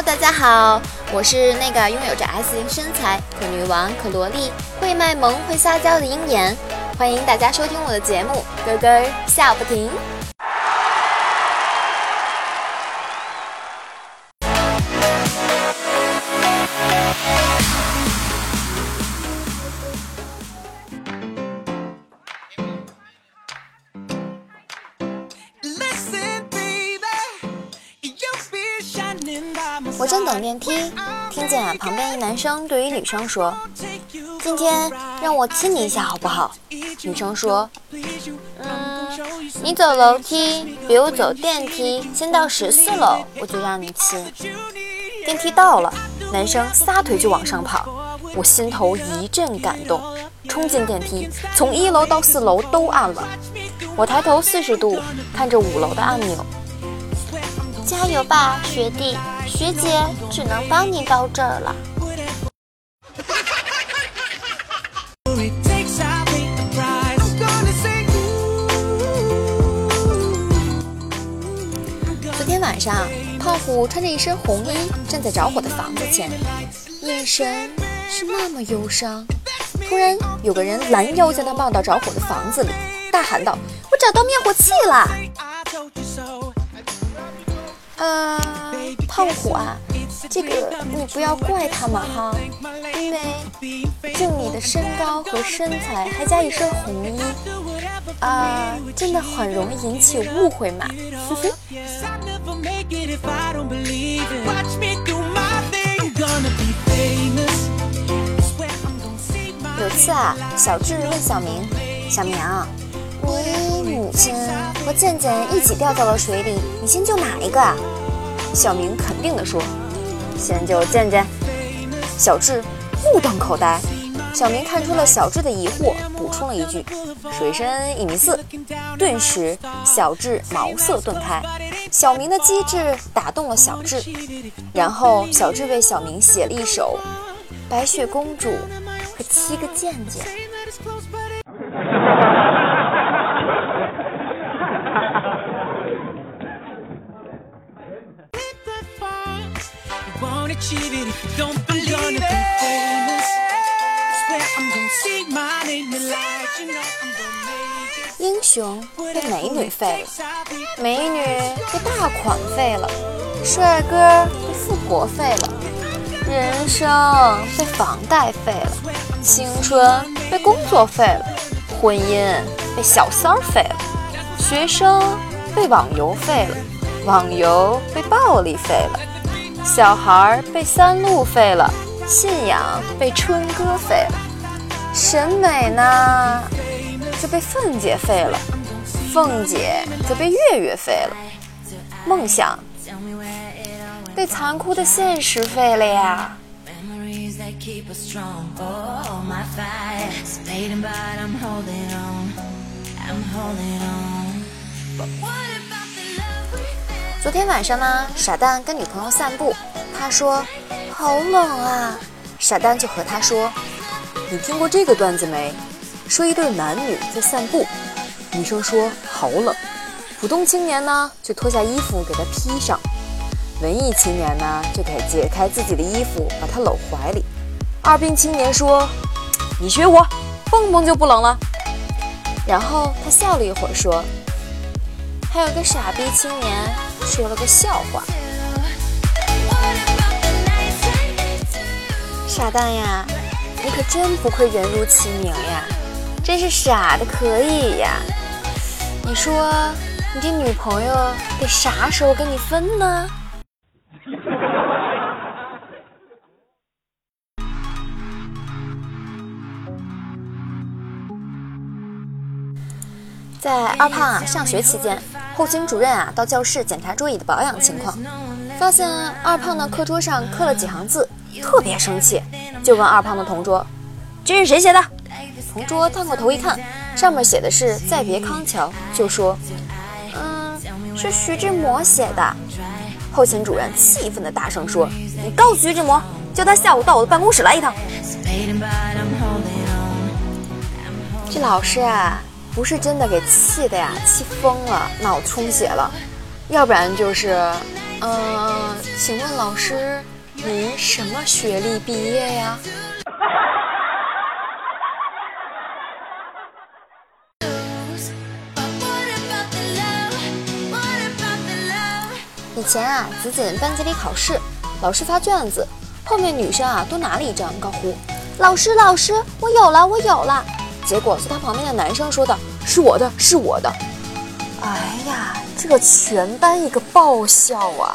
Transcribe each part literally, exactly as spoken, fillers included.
大家好，我是那个拥有着 S 型身材、可女王、可萝莉、会卖萌、会撒娇的鹰眼。欢迎大家收听我的节目，咯咯笑不停。我正等电梯，听见啊旁边一男生对于女生说：“今天让我亲你一下好不好？”女生说：“嗯，你走楼梯比我走电梯先到十四楼，我就让你亲。”电梯到了，男生撒腿就往上跑，我心头一阵感动，冲进电梯，从一楼到四楼都按了。我抬头四十度看着五楼的按钮。加油吧，学弟，学姐只能帮你到这儿了。昨天晚上，胖虎穿着一身红衣站在着火的房子前，眼神是那么忧伤。突然，有个人拦腰将他抱到着火的房子里，大喊道：“我找到灭火器了！”呃，胖虎啊，这个你不要怪他们哈，因为就你的身高和身材，还加一身红衣，啊、呃，真的很容易引起误会嘛。呵呵。有次啊，小智问小明：“小明，你母亲和健健一起掉到了水里，你先救哪一个啊？”小明肯定地说：“先救健健。”小智目瞪口呆。小明看出了小智的疑惑，补充了一句：“水深一米四。”顿时，小智茅塞顿开。小明的机智打动了小智，然后小智为小明写了一首《白雪公主和七个健健》。英雄被美女废了，美女被大款废了，帅哥被富婆废了，人生被房贷废了，青春被工作废了，婚姻被小三儿废了，学生被网游废了，网游被暴力废了，小孩被三鹿废了，信仰被春歌废了，审美呢就被凤姐废了，凤姐则被月月废了，梦想被残酷的现实废了呀。昨天晚上呢，傻蛋跟女朋友散步，他说好冷啊，傻蛋就和他说：“你听过这个段子没？说一对男女在散步，女生说好冷，普通青年呢就脱下衣服给他披上，文艺青年呢就给解开自己的衣服把他搂怀里，二病青年说你学我，蹦蹦就不冷了。”然后他笑了一会儿说：“还有个傻逼青年说了个笑话。”傻蛋呀，你可真不愧人如其名呀，真是傻的可以呀。你说你这女朋友得啥时候跟你分呢？在二胖啊上学期间，后勤主任啊到教室检查桌椅的保养情况，发现二胖的课桌上刻了几行字，特别生气，就问二胖的同桌：“这是谁写的？”同桌探过头一看，上面写的是“再别康桥”，就说：“嗯，是徐志摩写的。”后勤主任气愤地大声说：“你告诉徐志摩，叫他下午到我的办公室来一趟。”这老师啊，不是真的给气的呀，气疯了，脑充血了，要不然就是呃，请问老师，您什么学历毕业呀？以前啊，子锦班级里考试，老师发卷子，后面女生啊都拿了一张，高呼：“老师，老师，我有了，我有了！”结果是他旁边的男生说的：“是我的，是我的。”哎呀，这个全班一个爆笑啊！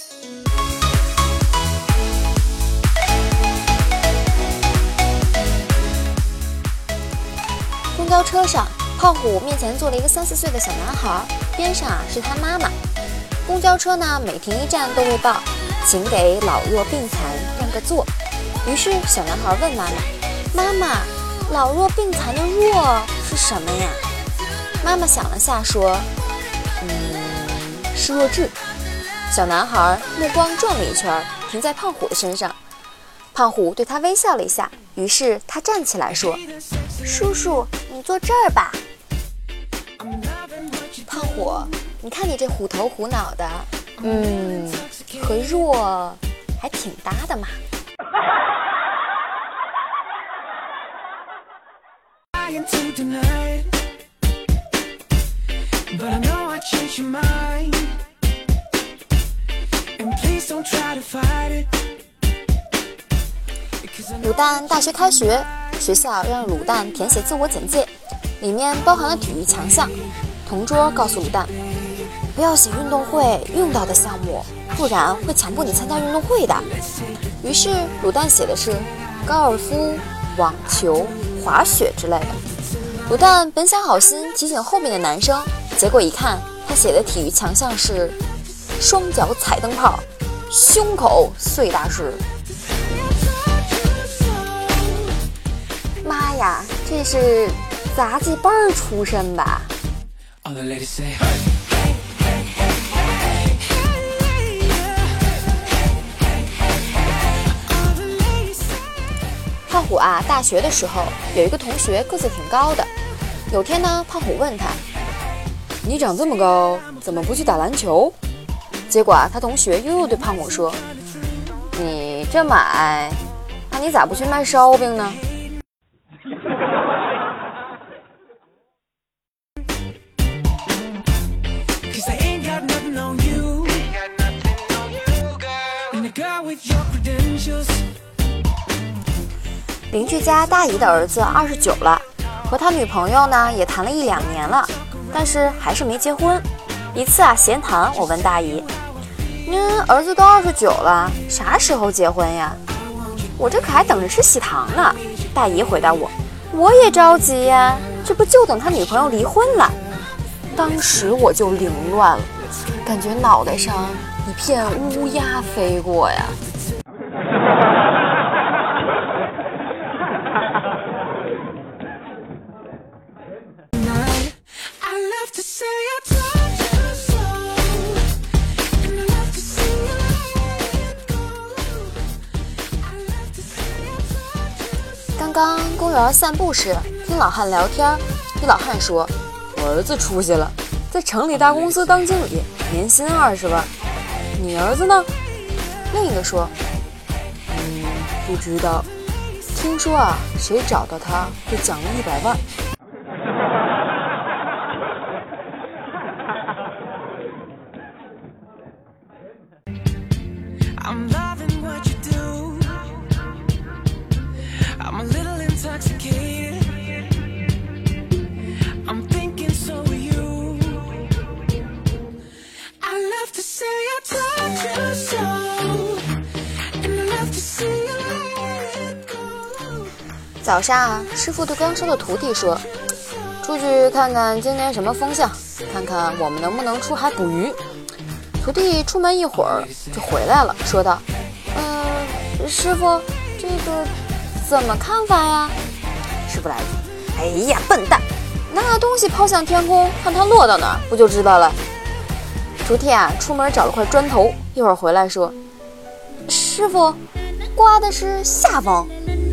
公交车上，胖虎面前坐了一个三四岁的小男孩，边上啊是他妈妈。公交车呢，每停一站都会报，请给老弱病残让个座。于是小男孩问妈妈：“妈妈，老弱病残的弱是什么呀？”妈妈想了下说：“嗯，是弱智。”小男孩目光转了一圈，停在胖虎的身上。胖虎对他微笑了一下，于是他站起来说：“叔叔，你坐这儿吧。”胖虎，你看你这虎头虎脑的，嗯，和弱还挺搭的嘛。卤蛋大学开学，学校让卤蛋填写自我简介，里面包含了体育强项。同桌告诉卤蛋，不要写运动会用到的项目，不然会强迫你参加运动会的。于是卤蛋写的是高尔夫、网球、滑雪之类的。卤蛋本想好心提醒后面的男生，结果一看，他写的体育强项是双脚踩灯泡，胸口碎大石。妈呀，这是杂技班出身吧？胖虎啊，大学的时候有一个同学个子挺高的。有天呢，胖虎问他：“你长这么高，怎么不去打篮球？”结果啊，他同学又又对胖虎说：“你这么矮，那你咋不去卖烧饼呢？”邻居家大姨的儿子二十九了，和他女朋友呢也谈了一两年了，但是还是没结婚。一次啊闲谈，我问大姨：“您儿子都二十九了，啥时候结婚呀？”我这可还等着吃喜糖呢。大姨回答我：“我也着急呀，这不就等他女朋友离婚了。”当时我就凌乱了，感觉脑袋上一片乌鸦飞过呀。刚刚公园散步时，听老汉聊天，一老汉说：“我儿子出息了，在城里大公司当经理，年薪二十万。你儿子呢？”另一个说：“嗯，不知道。听说啊，谁找到他会奖励一百万。”早上啊，师傅对刚收的徒弟说：“出去看看今天什么风向，看看我们能不能出海捕鱼。”徒弟出门一会儿就回来了，说道：“嗯，师傅，这个怎么看法呀？”师傅来一句：“哎呀，笨蛋，拿东西抛向天空，看它落到哪儿，不就知道了。”徒弟啊，出门找了块砖头，一会儿回来说：“师傅，刮的是下风。”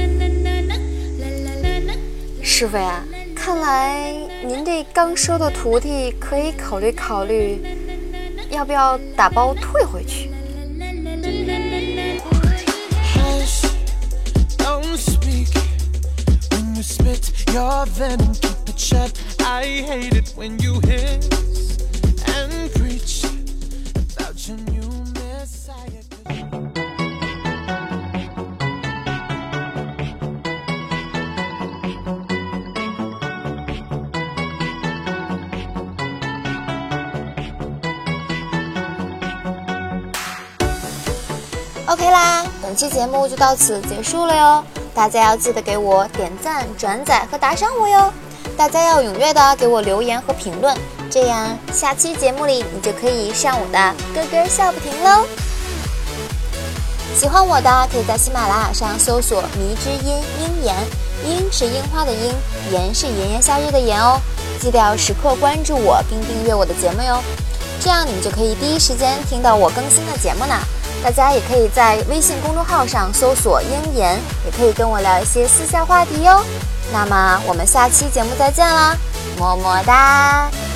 师傅呀，看来您这刚收的徒弟可以考虑考虑要不要打包退回去？OK 啦，本期节目就到此结束了哟。大家要记得给我点赞、转载和打赏我哟。大家要踊跃的给我留言和评论，这样下期节目里你就可以上我的咯咯笑不停喽。喜欢我的可以在喜马拉雅上搜索迷之音鹰言，鹰是樱花的鹰，言是炎炎夏日的炎哦。记得要时刻关注我并订阅我的节目哟，这样你们就可以第一时间听到我更新的节目呢。大家也可以在微信公众号上搜索鹰言，也可以跟我聊一些私下话题哟。那么我们下期节目再见啦，么么哒。